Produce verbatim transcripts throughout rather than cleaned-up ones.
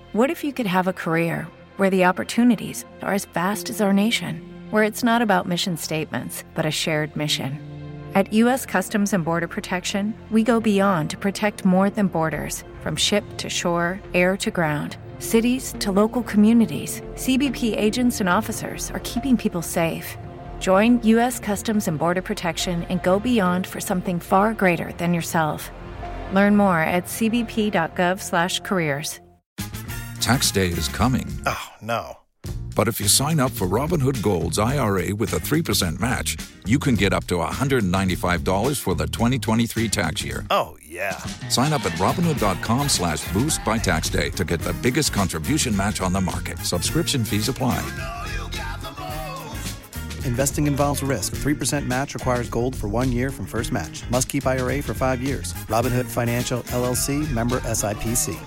What if you could have a career where the opportunities are as vast as our nation, where it's not about mission statements, but a shared mission? At U S Customs and Border Protection, we go beyond to protect more than borders. From ship to shore, air to ground, cities to local communities, C B P agents and officers are keeping people safe. Join U S Customs and Border Protection and go beyond for something far greater than yourself. Learn more at cbp.gov slash careers. Tax day is coming. Oh, no. But if you sign up for Robinhood Gold's I R A with a three percent match, you can get up to one hundred ninety-five dollars for the twenty twenty-three tax year. Oh, yeah. Sign up at Robinhood.com slash boost by tax day to get the biggest contribution match on the market. Subscription fees apply. Investing involves risk. three percent match requires gold for one year from first match. Must keep I R A for five years. Robinhood Financial, L L C, member S I P C.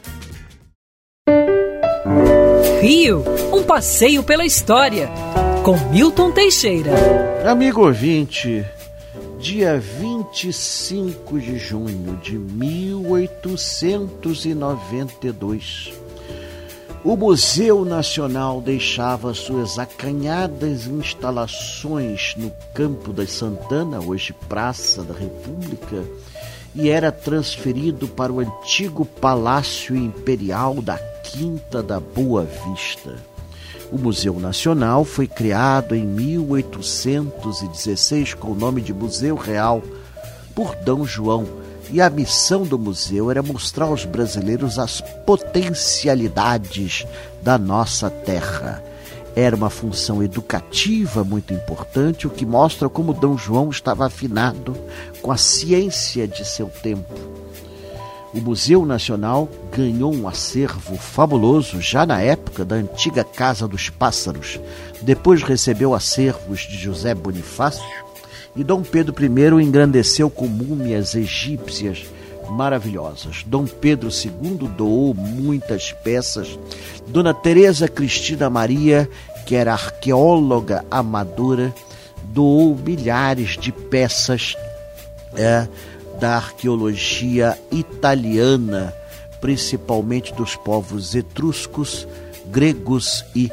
Rio, um passeio pela história, com Milton Teixeira. Amigo ouvinte, dia vinte e cinco de junho de mil oitocentos e noventa e dois, o Museu Nacional deixava suas acanhadas instalações no Campo das Santana, hoje Praça da República, e era transferido para o antigo Palácio Imperial da Quinta da Boa Vista. O Museu Nacional foi criado em mil oitocentos e dezesseis com o nome de Museu Real por D. João, e a missão do museu era mostrar aos brasileiros as potencialidades da nossa terra. Era uma função educativa muito importante, o que mostra como D. João estava afinado com a ciência de seu tempo. O Museu Nacional ganhou um acervo fabuloso já na época da antiga Casa dos Pássaros. Depois recebeu acervos de José Bonifácio e Dom Pedro I o engrandeceu com múmias egípcias maravilhosas. Dom Pedro segundo doou muitas peças. Dona Teresa Cristina Maria, que era arqueóloga amadora, doou milhares de peças é, da arqueologia italiana, principalmente dos povos etruscos, gregos e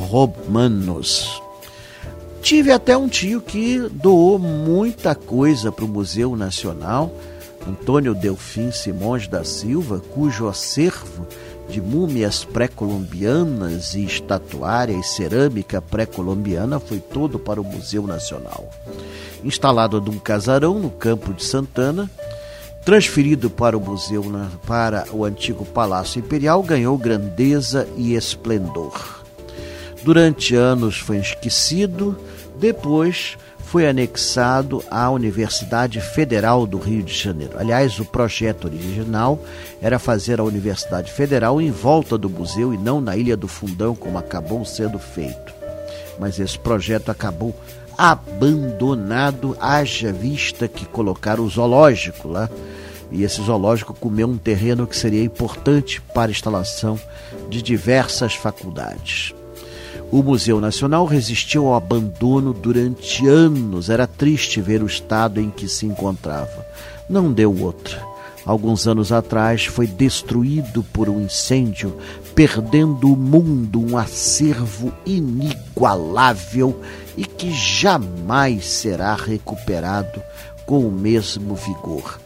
romanos. Tive até um tio que doou muita coisa para o Museu Nacional, Antônio Delfim Simões da Silva, cujo acervo de múmias pré-colombianas e estatuária e cerâmica pré-colombiana foi todo para o Museu Nacional. Instalado num casarão no Campo de Santana, transferido para o museu, para o antigo Palácio Imperial, ganhou grandeza e esplendor. Durante anos foi esquecido, depois foi anexado à Universidade Federal do Rio de Janeiro. Aliás, o projeto original era fazer a Universidade Federal em volta do museu e não na Ilha do Fundão, como acabou sendo feito. Mas esse projeto acabou abandonado, haja vista que colocaram o zoológico lá, e esse zoológico comeu um terreno que seria importante para a instalação de diversas faculdades. O Museu Nacional resistiu ao abandono durante anos. Era triste ver o estado em que se encontrava. Não deu outra. Alguns anos atrás foi destruído por um incêndio, perdendo o mundo um acervo inigualável e que jamais será recuperado com o mesmo vigor.